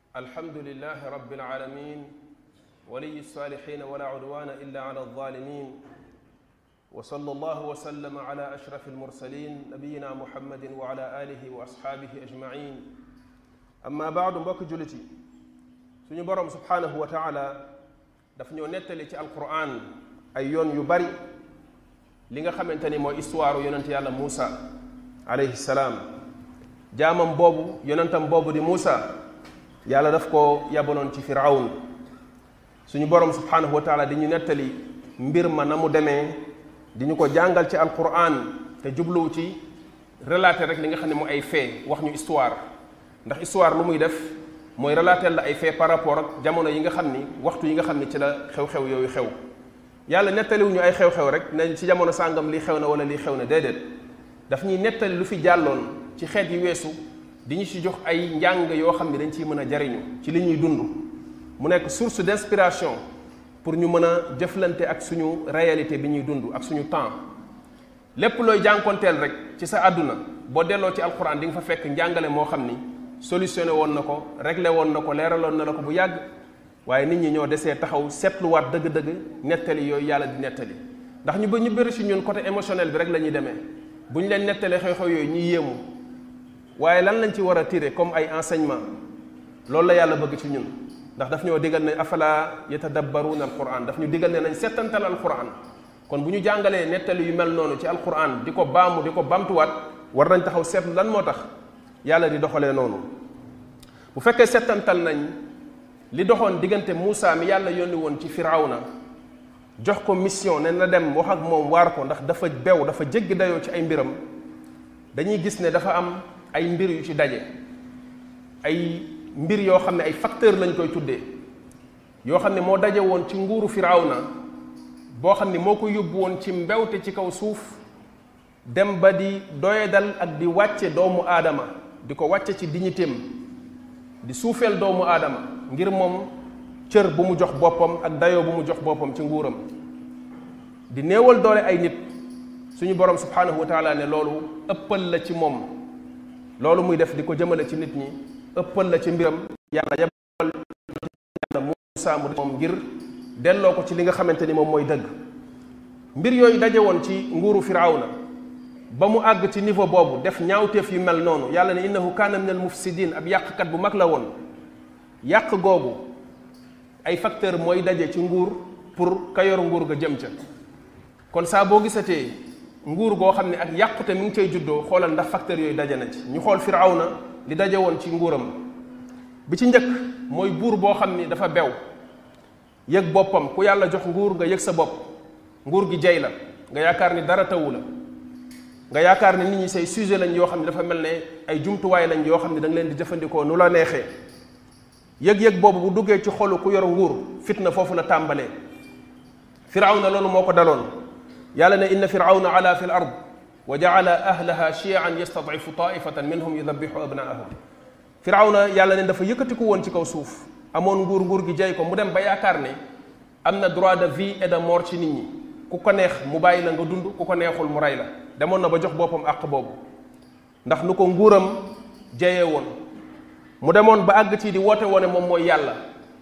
الحمد لله رب العالمين ولي الصالحين ولا عدوان إلا على الظالمين وصلى الله وسلم على أشرف المرسلين نبينا محمد وعلى آله وأصحابه أجمعين أما بعد mbokk jullit yi suñu borom subhanahu wa taala daf ñoo nettali ci alquran ay yoon yu bari li nga xamante ni mooy histoire yonent yàlla Muusa alayhi salaam jaamam boobu yonentam boobu di Muusa yàlla daf ko yabaloon ci Firawn suñu borom subhanahu wa taala di ñu nettali mbir ma na mu demee di ñu ko jàngal ci alquran te jubluwu ci relater rek li nga xam ne mu ay fait wax ñu histoire ndax histoire lu muy def mooy relater la ay fait par rapport ak jamono yi nga xam ni waxtu yi nga xam ni ci la xew-xew yooyu xew yàlla nettaliwuñu ay xew-xew rek ne ci jamono sàngam lii xew na wala lii xew na déedéet daf ñuy nettali lu fi jàlloon ci xeet yi weesu di ñu ci jox ay njàng yoo xam ne dañ ciy mën a jariñu ci li ñuy dund mu nekk source d'inspiration pour ñu mën a jëflante ak suñu réalité bi ñuy dund ak suñu temps lépp looy jànkonteel rek ci sa àdduna boo delloo ci alquran di nga fa fekk njàngale moo xam ni solutionné woon na ko réglé woon na ko leeraloon na la ko bu yàgg waaye nit ñi ñoo desee taxaw seetluwaat dëgg-dëgg nettali yooyu yàlla di nettali ndax ñu bëri si ñun côté émotionnel bi rek la ñuy demee bu ñu leen nettalee xew-xew yooyu ñuy yéemu waaye lan lañ ci war a tirer comme ay enseignement loolu la yàlla bëgg ci ñun ndax daf ñoo digal ne afala yatadabbaruuna alquran daf ñu digal ne nañ settantal alquran kon bu ñu jàngalee nettali yu mel noonu ci alquran di ko baamu di ko bamtuwaat war nañ taxaw seetlu lan moo tax yàlla di doxalee noonu bu fekkee settantal nañ li doxoon diggante Muusa mi yàlla yónni woon ci Firawna jox ko mission ne na dem wax ak moom waar ko ndax dafa bew dafa jéggi dayoo ci ay mbiram dañuy gis ne dafa am ay mbir yu ci daje ay mbir yoo xam ne ay facteur lañ koy tuddee yoo xam ne moo daje woon ci nguuru Firawna boo xam ne moo ko yóbbu woon ci mbewte ci kaw suuf dem ba di doyadal ak di wàcce doomu aadama di ko wàcce ci dignitéem di suufeel doomu aadama ngir moom cër bu mu jox boppam ak dayoo bu mu jox boppam ci nguuram di néewal doole ay nit suñu borom subhanahu wa taala ne loolu ëppal la ci moom loolu muy def di ko jëmale ci nit ñi ëppal la ci mbiram yàlla yabal yàlla Muusa mu moom ngir delloo ko ci li nga xamante ni moom mooy dëgg mbir yooyu daje woon ci nguuru Firawna ba mu àgg ci niveau boobu def ñaawteef yu mel noonu yàlla ne innahu kaana min al mufsidin ab yàqkat bu mag la woon yàq googu ay facteur mooy daje ci nguur pour ka yor nguur ga jëm ca kon saa boo gisatee nguur goo xam ne ak yàqute mi ngi cay juddoo xoolal ndax facteur yooyu daje na ci ñu xool Firawna li daje woon ci nguuram bi ci njëkk mooy buur boo xam ni dafa bew yëg boppam ku yàlla jox nguur nga yëg sa bopp nguur gi jey la nga yaakaar ni dara tawu la nga yaakaar ne nit ñi say sujet lañ yoo xam ne dafa mel ne ay jumtuwaay lañ yoo xam ne da nga leen di jëfandikoo nu la neexee yëg-yëg boobu bu duggee ci xolu ku yor nguur fitna foofu la tàmbalee Firawna loolu moo ko daloon yàlla ne inna firawna ala fi l ard wa jaala ahlaha chian yastadifu taifatan minhum yudabihu abnaahum Firawna yàlla ne dafa yëkkatiku woon ci kaw suuf amoon nguur gi jey ko mu dem ba yaakaar ne am na droit de vie et de mort ci nit ñi ku ko neex mu bàyyi la nga dund ku ko neexul mu rey la demoon na ba jox boppam àq boobu ndax nu ko nguuram jeyee woon mu demoon ba àgg ci di woote woone moom mooy yàlla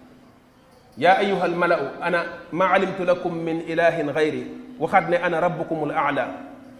yaa ayuha almalau ana ma alimtu lakum min ilahin gayri waxaat ne ana rabbukumul aala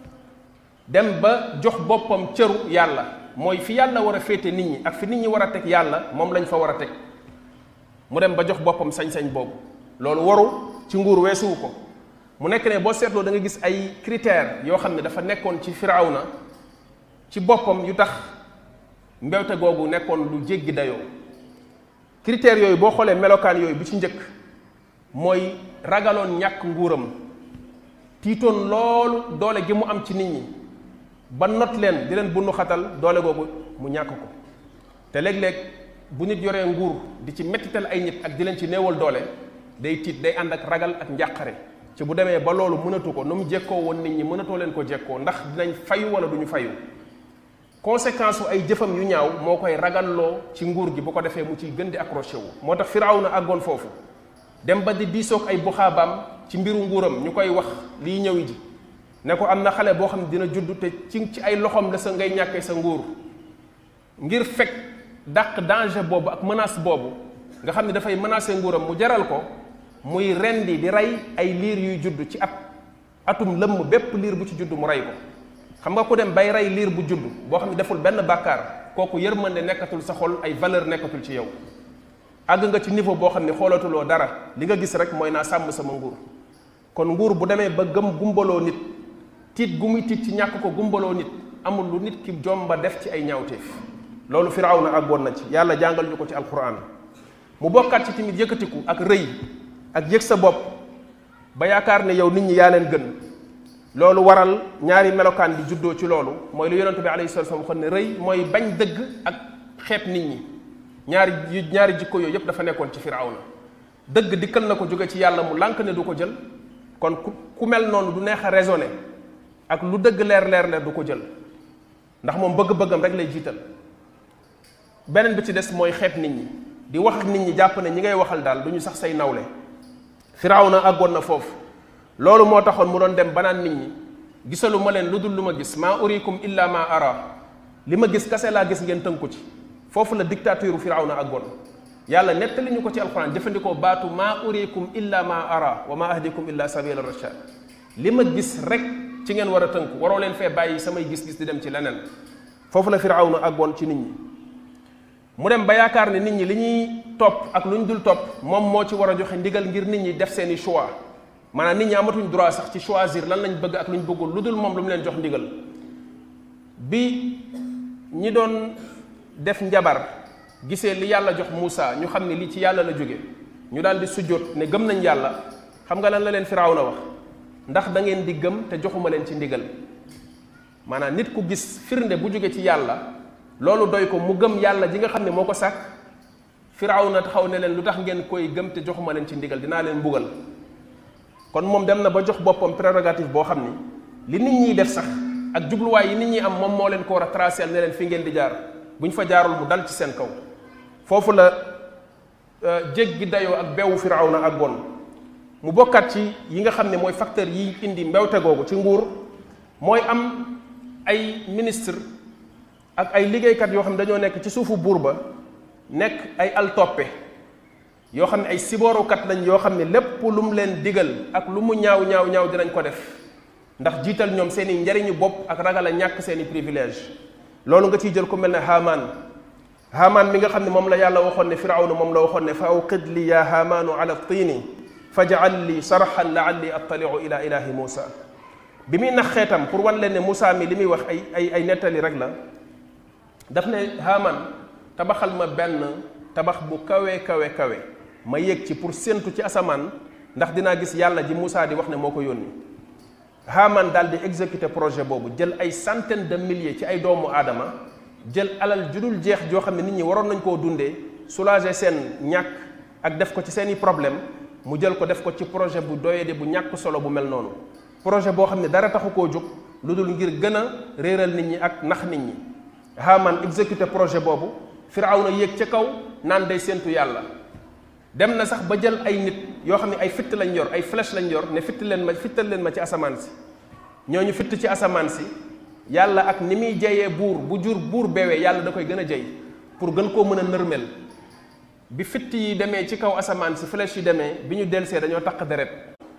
dem ba jox boppam cëru yàlla mooy fi yàlla war a féete nit ñi ak fi nit ñi war a teg yàlla moom lañ fa war a teg mu dem ba jox boppam sañ-sañ boobu loolu waru ci nguur weesuwu ko mu nekk ne boo seetloo da nga gis ay critères yoo xam ne dafa nekkoon ci Firawna ci boppam yu tax mbewte googu nekkoon lu jéggi dayoo critères yooyu boo xoolee melokaan yooyu bi ci njëkk mooy ragaloon ñàkk nguuram tiitoon loolu doole gi mu am ci nit ñi ba not leen di leen bunnu xatal doole googu mu ñàkk ko te léeg-léeg bu nit yoree nguur di ci mettital ay nit ak di leen ci néewal doole day tiit day ànd ak ragal ak njàqare ci bu demee ba loolu mënatu ko nu mu jekkoo woon nit ñi mënatoo leen ko jekkoo ndax dinañ fayu wala duñu fayu conséquence ay jëfam yu ñaaw moo koy ragalloo ci nguur gi bu ko defee mu ciy gën di accroché wu moo tax Firawna àggoon foofu dem ba di diisoog ay buxaabaam ci mbiru nguuram ñu koy wax liy ñëwi ji ne ko am na xale boo xam ne dina judd te ci ay loxoom la sa ngay ñàkkee sa nguur ngir fekk dàq danger boobu ak menace boobu nga xam ne dafay menacer nguuram mu jaral ko muy rendi di rey ay liir yuy judd ci atum lëmm bépp liir bu ci judd mu rey ko. xam nga ku dem bay rey liir bu judd boo xam ne deful benn bàkkaar kooku yërmande nekkatul sa xol, ay valeur nekkatul ci yow. àgg nga ci niveau boo xam ne xoolatuloo dara, li nga gis rek mooy naa sàmm sama nguur. kon nguur bu demee ba gumbaloo nit, tiit gu muy tiit ci ñàkk ko gumbaloo nit, amul lu nit ki jomba def ci ay ñaawteef. loolu Firawna àggoon na ci, yàlla jàngal ñu ko ci alquran. mu bokkaat ci tamit yëkkatiku ak rëy ak yëg sa bopp ba yaakaar ne yow nit ñi yaa leen gën. loolu waral ñaari melokaan di juddoo ci loolu, mooy lu yonent bi alayhi salaatu wa salaam waxoon ne rëy mooy bañ dëgg ak xeeb nit ñi. ñaari jikko yooyu yëpp dafa nekkoon ci Firawna. dëgg dikkal na ko jóge ci yàlla mu lànk ne du ko jël, kon ku mel noonu du neex a raisonné, ak lu dëgg leer du ko jël, ndax moom bëgg-bëggam rek lay jiital. beneen bi ci des mooy xeeb nit ñi, di wax ak nit ñi jàpp ne ñi ngay waxal daal du ñu sax say nawle. Firawna àggoon na foofu. loolu moo taxoon mu doon dem banaan nit ñi gisalu ma leen lu dul lu ma gis, maa urikum illa ma ara, li ma gis kase laa gis ngeen tënku ci. foofu la dictature Firawna àggoon. yàlla nettali ñu ko ci alquran jëfandikoo baatu maa urikum illa ma ara wa ma ahdikum illa sabila rashad. li ma gis rek ci ngeen war a tënku, waroo leen fee bàyyi samay gis-gis di dem ci leneen. foofu la Firawna àggoon ci nit ñi. mu dem ba yaakaar ne nit ñi li ñuy topp ak lu ñu dul topp moom moo ci war a joxe ndigal ngir nit ñi def seeni choix. maanaam nit ñi amatuñ droit sax ci choisir lan lañ bëgg ak lu ñu bëggul lu dul moom lu mu leen jox ndigal. bi ñi doon def njabar gisee li yàlla jox Muusa, ñu xam ne lii ci yàlla la jóge, ñu daal di sujjóot ne gëm nañ yàlla. xam nga lan la leen Firawna wax? ndax da ngeen di gëm te joxuma leen ci ndigal. maanaam nit ku gis firnde bu jóge ci yàlla, loolu doy ko mu gëm yàlla ji nga xam ne moo ko sàkk. Firawna taxaw ne leen lu tax ngeen koy gëm te joxuma leen ci ndigal, dinaa leen mbugal. kon moom dem na ba jox boppam prérogative boo xam ni li nit ñiy def sax ak jubluwaay yi nit ñi am moom moo leen ko war a tracé ne leen fi ngeen di jaar, bu ñu fa jaarul mu dal ci seen kaw. foofu la jéggi dayoo ak beewu Firawna ak bon. mu bokkaat ci yi nga xam ne mooy facteur yi indi mbewte googu ci nguur, mooy am ay ministre ak ay liggéeykat yoo xam ne dañoo nekk ci suufu buur ba, nekk ay altoppe yoo xam ne ay siboorukat lañ, yoo xam ne lépp lu mu leen digal ak lu mu ñaaw dinañ ko def, ndax jiital ñoom seeni njariñu bopp ak ragal a ñàkk seeni privilège. loolu nga ciy jël ku mel ne Haamaan mi nga xam ne moom la yàlla waxoon ne Firawna moom la waxoon ne fa awqid li ya haamaanu ala tiini faj'al li sarhan la'alli attali'u ila ilahi Muusa. bi muy nax xeetam pour wan leen ne Muusa mi li muy wax ay nettali rek la, daf ne Haamaan tabaxal ma benn tabax bu kawe ma yéeg ci pour séentu ci asamaan ndax dinaa gis yàlla ji Muusa di wax ne moo ko yónni. Haamaan daal di exécuter projet boobu, jël ay centaines de milliers ci ay doomu aadama, jël alal judul jeex joo xam ne nit ñi waroon nañ koo dundee, soulager seen ñàkk ak def ko ci seeni problème, mu jël ko def ko ci projet bu doyade bu ñàkk solo bu mel noonu. projet boo xam ne dara taxu koo jóg lu dul ngir gën a réeral nit ñi ak nax nit ñi. Haamaan exécuter projet boobu, Firawna yéeg ca kaw naan day séentu yàlla. dem na sax ba jël ay nit yoo xam ne ay fitt lañ yor, ay flèche lañ yor, ne fittal leen ma ci asamaan si. ñooñu fitt ci asamaan si, yàlla ak ni muy jeyee buur bewee, yàlla da koy gën a jey pour gën koo mën a nërmel. bi fitt yi demee ci kaw asamaan si, flèche yi demee, bi ñu delsee dañoo taq deret.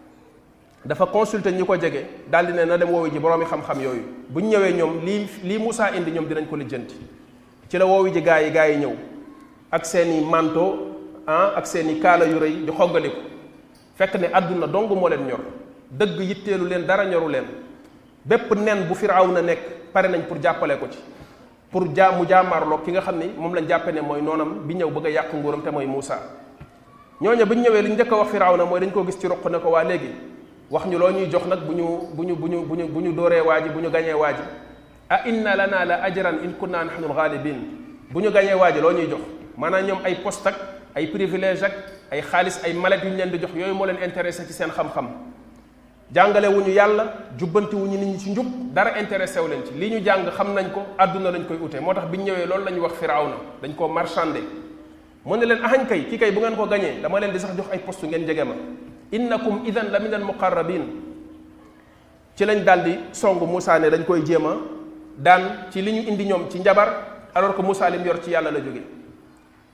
dafa consulter ñi ko jege daal di ne na dem woowi ji boroomi xam-xam yooyu, bu ñu ñëwee ñoom lii Muusa indi ñoom dinañ ko lijjanti. ci la woowi ji gaa yi ñëw ak seeni manteau ak seeni kaala yu rëy di xoggaliku, fekk ne àdduna dong moo leen ñor, dëgg yitteelu leen, dara ñoru leen. bépp nen bu Firawna nekk pare nañ pour jàppale ko ci, pour mu jaamaarloo ki nga xam ni moom lañ jàppe ne mooy noonam bi ñëw bëgg a yàq nguuram te mooy Muusa. ñooñu bu ñu ñëwee li ñu njëkk a wax Firawna mooy dañ koo gis ci ruq ne ko waa léegi wax ñu loo ñuy jox nag bu ñu dooree waa ji, bu ñu gañee waa ji. a inna lana la ajran in kunna nahnu al-ghalibin. bu ñu gañee waa ji loo ñuy jox? maanaam ñoom ay poste ak ay privilège ak ay xaalis, ay mallette yu ñu leen di jox, yooyu moo leen intéressé ci seen xam-xam. jàngale wu ñu yàlla, jubbanti wu ñu nit ñi ci njub, dara intéressé wu leen ci. li ñu jàng xam nañ ko, àdduna lañ koy ute. moo tax bi ñu ñëwee loolu la ñu wax Firawna, dañ koo marchandé. mu ne leen ahañ kay, kii kay bu ngeen ko gañee dama leen di sax jox ay poste ngeen jege ma. innakum idan la min al muqarrabin. ci lañ daal di song Muusa ne dañ koy jéem a daan ci li ñu indi ñoom ci njabar, alors que Muusa lim yor ci yàlla la jóge.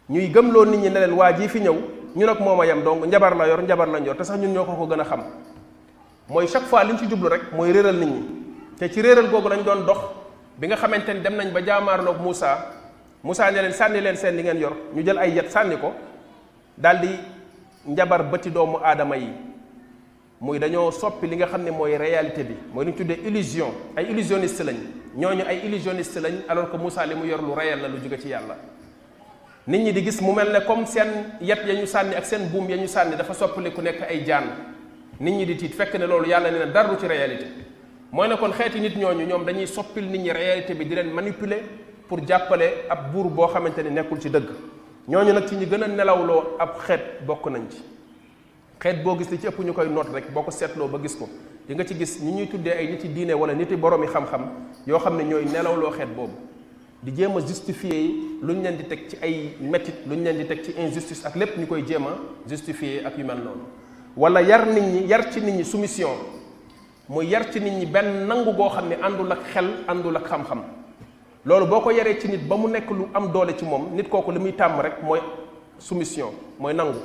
ñuy gëmloo nit ñi ne leen waa ji fi ñëw ñun ak moom a yem donc njabar la yor njabar lañ yor te sax ñun ñoo ko gën a xam. mooy chaque fois li ñu ci jublu rek mooy réeral nit ñi te ci réeral googu lañ doon dox bi nga xamante ni dem nañ ba jaamaarloog Moussa ne leen sànni leen seen li ngeen yor ñu jël ay yet sànni ko daal di njabar bëti doomu aadama yi muy dañoo soppi li nga xam ne mooy réalité bi mooy li ñu tuddee illusion ay illusionniste lañ ñooñu ay illusionniste lañ alors que Moussa li mu yor lu réel la lu jóge ci yàlla. nit ñi di gis mu mel ne comme seen yet ya ñu sànni ak seen buum ya ñu sànni dafa soppali ku nekk ay jaan nit ñi di tiit fekk ne loolu yàlla ne na dara ci réalité mooy ne kon xeeti nit ñooñu ñoom dañuy soppil nit ñi réalité bi di leen manipuler pour jàppale ab buur boo xamante ni nekkul ci dëgg ñooñu nag ci ñi gën a nelawloo ab xeet bokk nañ ci xeet boo gis li ci ëpp ñu koy noot rek boo ko seetloo ba gis ko di nga ci gis ñi ñuy tuddee ay nit yi diine wala nit yi boroomi xam-xam yoo xam ne ñooy nelawloo xeet boobu di jéem a justifier lu ñu leen di teg ci ay métit lu ñu leen di teg ci injustice ak lépp ñu koy jéem a justifier ak yu mel noonu wala yar nit ñi yar ci nit ñi soumission mooy yar ci nit ñi benn nangu goo xam ne àndul ak xel àndul ak xam-xam loolu boo ko yaree ci nit ba mu nekk lu am doole ci moom nit kooku li muy tàmm rek mooy soumission mooy nangu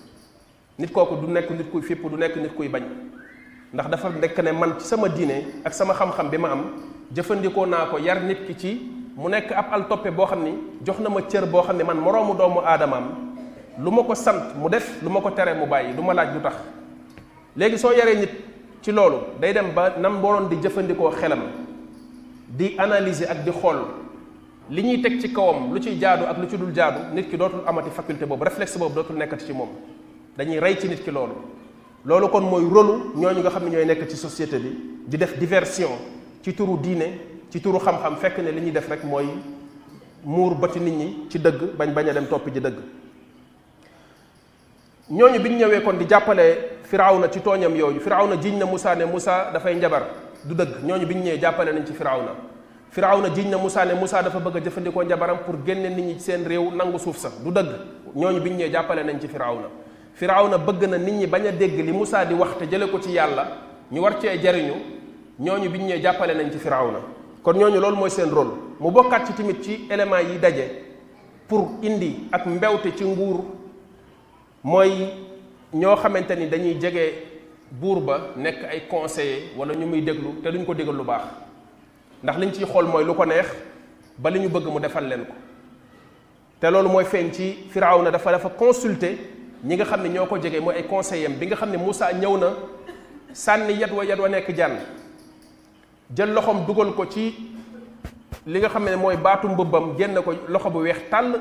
nit kooku du nekk nit kuy fipp du nekk nit kuy bañ ndax dafa nekk ne man ci sama diine ak sama xam-xam bi ma am jëfandikoo naa ko yar nit ki ci mu nekk ab al toppe boo xam ni jox na ma cër boo xam ne man moroomu doomu aadamaam lu ma ko sant mu def lu ma ko tere mu bàyyi du ma laaj lu tax léegi soo yaree nit ci loolu day dem ba nam waroon di jëfandikoo xelam di analyser ak di xool li ñuy teg ci kawam lu ciy jaadu ak lu ci dul jaadu nit ki dootul amati faculté boobu réflexe boobu dootul nekkati ci moom dañuy rey ci nit ki loolu kon mooy rôlu ñooñu nga xam ne ñooy nekk ci société bi di def diversion ci turu diine ci turu xam-xam fekk ne li ñuy def rek mooy muur bëti nit ñi ci dëgg bañ a dem topp ji dëgg ñooñu bi ñu ñëwee kon di jàppale Firawna ci tooñam yooyu Firawna jiñ na Moussa ne Moussa dafay njabar du dëgg ñooñu bi ñu ñëwee jàppale nañ ci Firawna jiñ na Moussa ne Moussa dafa bëgg a jëfandikoo njabaram pour génne nit ñi ci seen réew nangu suuf sa du dëgg ñooñu bi ñu ñëwee jàppale nañ ci Firawna bëgg na nit ñi bañ a dégg li Moussa di wax te jële ko ci yàlla ñu war cee jariñu ñooñu bi ñu ñëwee jàppale nañ ci Firawna kon ñooñu loolu mooy seen rôle mu bokkaat ci tamit ci éléments yi daje pour indi ak mbewte ci nguur mooy ñoo xamante ni dañuy jege buur ba nekk ay conseillers wala ñu muy déglu te duñ ko déglu lu baax ndax liñ ciy xool mooy lu ko neex ba li ñu bëgg mu defal leen ko te loolu mooy feeñ ci Firawna dafa consulter ñi nga xam ne ñoo ko jege mooy ay conseillers am bi nga xam ne Moussa ñëw na sànni yat wa nekk jànn jël loxoom dugal ko ci li nga xam ne mooy baatu mbëbbam génn ko loxo bu weex tàll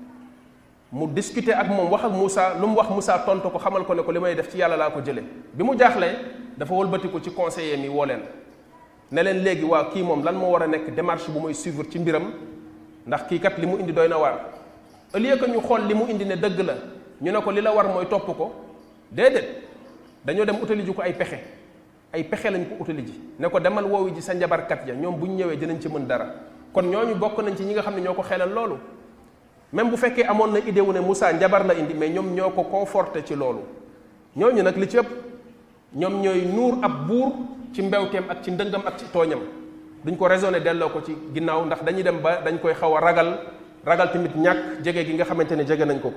mu discuter ak moom wax ak Moussa lu mu wax Moussa tontu ko xamal ko ne ko li may def ci yàlla laa ko jële bi mu jaaxlee dafa wëlbatiku ci conseiller mi woo leen ne leen léegi waaw kii moom lan moo war a nekk démarche bu muy suivre ci mbiram ndax kii kat li mu indi doy na waar au lieu que ñu xool li mu indi ne dëgg la ñu ne ko li la war mooy topp ko déedéet dañoo dem utali ji ko ay pexe lañ ko utali ji ne ko demal woowu ji sa njabarkat ya ñoom bu ñu ñëwee dinañ ci mën dara kon ñooñu bokk nañ ci ñi nga xam ne ñoo ko xelal loolu même bu fekkee amoon na idée wu ne Moussa njabar la indi mais ñoom ñoo ko conforté ci loolu ñooñu nag li ci ëpp ñoom ñooy nuur ab buur ci mbewteem ak ci ndëngam ak ci tooñam duñ ko raisonné delloo ko ci ginnaaw ndax dañuy dem ba dañ koy xaw a ragal tamit ñàkk jege gi nga xamante ni jege nañ ko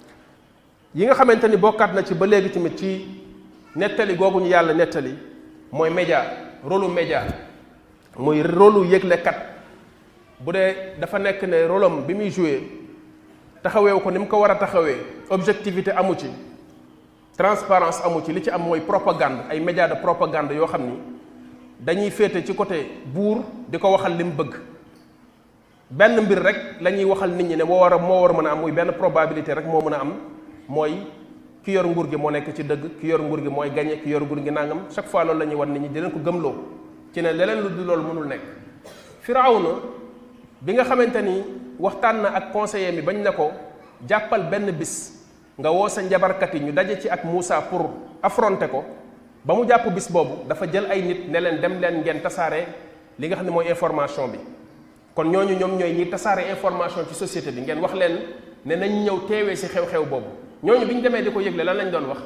yi nga xamante ni bokkaat na ci ba léegi tamit ci nettali googu ñu yàlla nettali mooy média rôlu média mooy rôlu yëglekat bu dee dafa nekk ne rôlam bi muy joué taxaweewu ko ni mu ko war a taxawee objectivité amu ci transparence amu ci li ci am mooy propagande ay média de propagande yoo xam ni dañuy féete ci côté buur di ko waxal li mu bëgg benn mbir rek la ñuy waxal nit ñi ne moo war a mën a am muy benn probabilité rek moo mën a am mooy ki yor nguur gi moo nekk ci dëgg ki yor nguur gi mooy gagné ki yor nguur gi nangam chaque fois loolu la ñuy wan nit ñi di leen ko gëmloo ci ne leneen lu dul loolu mënul nekk Firawna bi nga xamante ni waxtaan na ak conseiller mi bañ ne ko jàppal benn bis nga woo sa njabarkat yi ñu daje ci ak Moussa pour affronter ko ba mu jàpp bis boobu dafa jël ay nit ne leen dem leen ngeen tasaare li nga xam ne mooy information bi kon ñooñu ñoom ñooy ñi tasaare information ci société bi ngeen wax leen ne nañ ñëw teewee si xew-xew boobu ñooñu bi ñu demee di ko yëgle lan lañ doon wax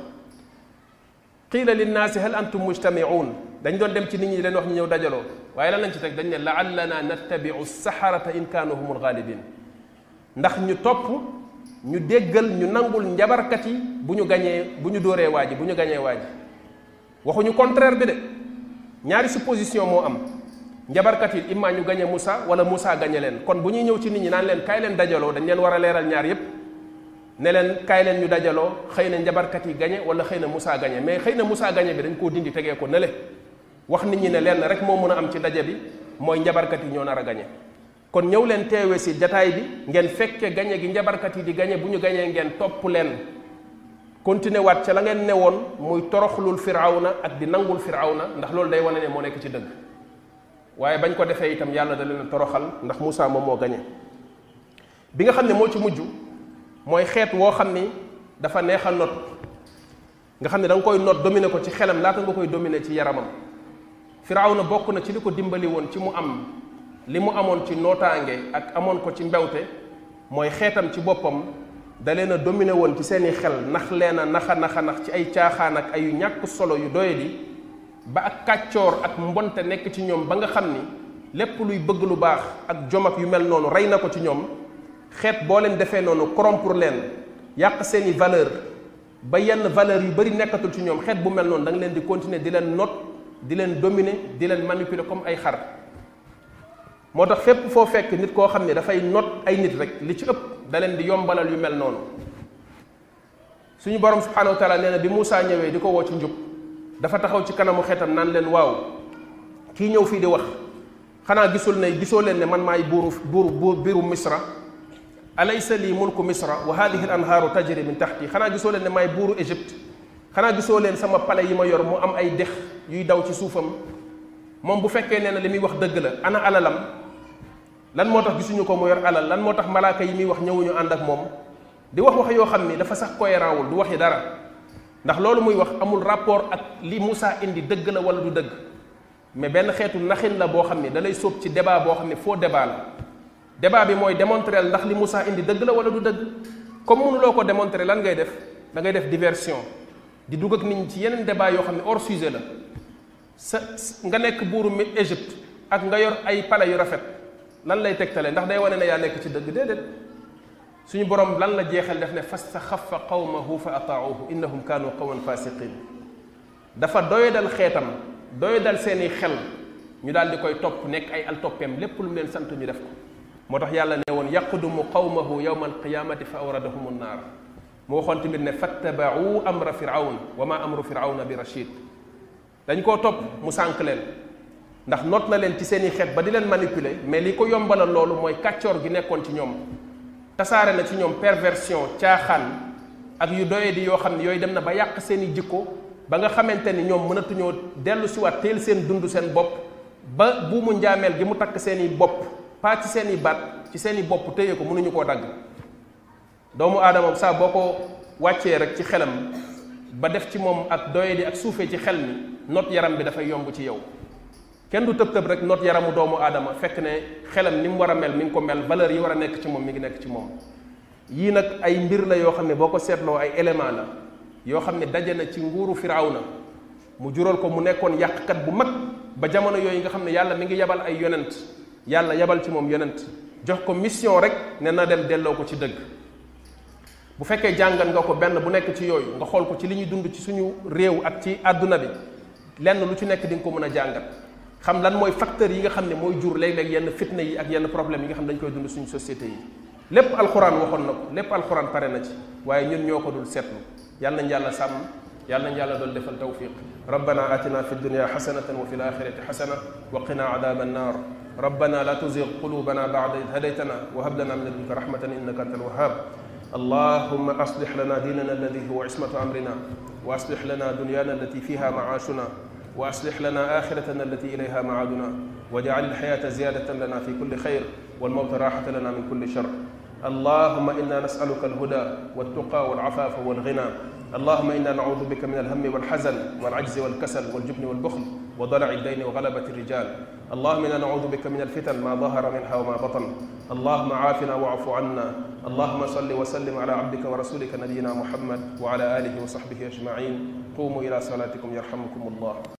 qiila linnaasi hal antum mujtami'un dañ doon dem ci nit ñi di leen wax ñu ñëw dajaloo waaye lan lañ ci teg dañ ne la'allana nattabi'u saharata in kaanu humul ghalibin ndax ñu topp ñu déggal ñu nangul njabarkat yi bu ñu dóoree waa ji bu ñu gañee waa ji waxuñu contraire bi de ñaari supposition moo am njabarkat yi imma ñu gañe Moussa wala Moussa gañe leen kon bu ñuy ñëw ci nit ñi naan leen kaay leen dajaloo dañ leen war a leeral ñaar yépp ne leen kaay leen ñu dajaloo xëy na njabarkat yi gañe wala xëy na Moussa gañe mais xëy na Moussa gañe bi dañ koo dindi tegee ko nële wax nit ñi ne leen rek moo mën a am ci daje bi mooy njabarkat yi ñoo nar a gañe kon ñëw leen teewe si jataay bi ngeen fekke gañe gi njabarkat yi di gañe bu ñu gañee ngeen topp leen continuer waat ca la ngeen newoon muy toroxlul firawna ak di nangul firawna ndax loolu day wane ne moo nekk ci dëgg waaye bañ ko defee itam yàlla da leen a toroxal ndax Moussa moom moo gañe bi nga xam ne moo ci mujj mooy xeet woo xam ni dafa neex a not nga xam ne da nga koy not dominer ko ci xelam laata nga koy dominer ci yaramam firawna bokk na ci li ko dimbali woon ci mu am li mu amoon ci nootaange ak amoon ko ci mbewte mooy xeetam ci boppam da leen a dominer woon ci seeni xel nax leen a nax ci ay caaxaan ak ay ñàkk solo yu doyadi ba ak kàccoor ak mbonte nekk ci ñoom ba nga xam ni lépp luy bëgg lu baax ak jom ak yu mel noonu rey na ko ci ñoom xeet boo leen defee noonu corrompre leen yàq seeni valeur ba yenn valeur yu bari nekkatul ci ñoom xeet bu mel noonu da nga leen di continuer di leen not di leen dominer di leen manipuler comme ay xar moo tax fépp foo fekk nit koo xam ne dafay not ay nit rek li ci ëpp da leen di yombalal yu mel noonu suñu borom subhanahu wa taala nee na bi Moussa ñëwee di ko woo ci njub dafa taxaw ci kanamu xeetam naan leen waaw kii ñëw fii di wax xanaa gisoo leen ne man maay biiru misra alaysa lii mulku misra wa hadihi al anhaaru tajri min tahti xanaa gisoo leen ne maay buuru Égypte xanaa gisoo leen sama pale yi ma yor mu am ay dex yuy daw ci suufam moom bu fekkee nee na li muy wax dëgg la ana alalam lan moo tax gisuñu ko mu yor alal lan moo tax malaaka yi muy wax ñëwuñu ànd ak moom di wax yoo xam ni dafa sax cohérent wul du waxi dara ndax loolu muy wax amul rapport ak li Moussa indi dëgg la wala du dëgg mais benn xeetu naxin la boo xam ni da lay sóob ci débat boo xam ne faux débat la débat bi mooy démontrer ndax li Moussa indi dëgg la wala du dëgg comme mënuloo ko démontrer lan ngay def da ngay def diversion di dugg ak nit ñi ci yeneen débat yoo xam ne hors sujet la nga nekk buuru Égypte ak nga yor ay pale yu rafet lan lay tegtale ndax day wane ne yaa nekk ci dëgg déedéet suñu borom lan la jeexal def ne fastaxaffa qawmahu fa ataauhu innahum kaanu qawman fasiqin dafa doyadal xeetam doyadal seeni xel ñu daal di koy topp nekk ay altoppeem lépp lu mu leen sant ñu def ko moo tax yàlla ne woon yaqdumu qawmahu yawma alqiyamati fa awradahum annaar mu waxoon tamit ne fattabaau amra firawn wa ma amru firawna bi rachid dañ koo topp mu sànq leen ndax noot na leen ci seeni xeet ba di leen manipuler mais li ko yombalal loolu mooy kàccoor gi nekkoon ci ñoom tasaare na ci ñoom perversion caaxaan ak yu doye di yoo xam ne yooyu dem na ba yàq seeni jikko ba nga xamante ni ñoom mënatuñoo dellu siwaat teel seen dund seen bopp ba buumu njaameel gi mu takk seeni bopp pas ci seeni baat ci seeni bopp téye ko mënuñu koo dagg doomu aadama saa boo ko wàccee rek ci xelam ba def ci moom ak doye di ak suufee ci xel mi not yaram bi dafay yomb ci yow kenn du tëb rek not yaramu doomu aadama fekk ne xelam ni mu war a mel mi ngi ko mel valeur yi war a nekk ci moom mi ngi nekk ci moom yii nag ay mbir la yoo xam ne boo ko seetloo ay élément la yoo xam ne daje na ci nguuru firawna mu jural ko mu nekkoon yàqkat bu mag ba jamono yooyu nga xam ne yàlla mi ngi yabal ay yonent yàlla yabal ci moom yonent jox ko mission rek ne na dem delloo ko ci dëgg bu fekkee jàngat nga ko benn bu nekk ci yooyu nga xool ko ci li ñuy dund ci suñu réew ak ci àdduna bi lenn lu ci nekk di nga ko mën a jàngat xam lan mooy facteur yi nga xam ne mooy jur léeg-léeg yenn fitna yi ak yenn problème yi nga xam ne dañ koy dund suñu société yi lépp alxuraan waxoon na ko lépp alxuraan pare na ci waaye ñun ñoo ko dul seetlu yàlla nañ yàlla sàmm yàlla nañ yàlla doon defal tawfiq rabbana atina fi dunya xasanatan wa fi laxirati xasana wa qina adaba annar rabbana la tuzigh qulubana ba'da id hadaytana wa hab lana min ladunka rahmatan innaka antal wahhab اللهم أصلح لنا ديننا الذي هو عصمة أمرنا وأصلح لنا دنيانا التي فيها معاشنا وأصلح لنا آخرتنا التي إليها معادنا واجعل الحياة زيادة لنا في كل خير والموت راحة لنا من كل شر اللهم إنا نسألك الهدى والتقى والعفاف والغنى اللهم إنا نعوذ بك من الهم والحزن والعجز والكسل والجبن والبخل وضلع الدين وغلبة الرجال اللهم إنا نعوذ بك من الفتن ما ظهر منها وما بطن اللهم عافنا واعف عنا اللهم صل وسلم على عبدك ورسولك نبينا محمد وعلى آله وصحبه أجمعين قوموا إلى صلاتكم يرحمكم الله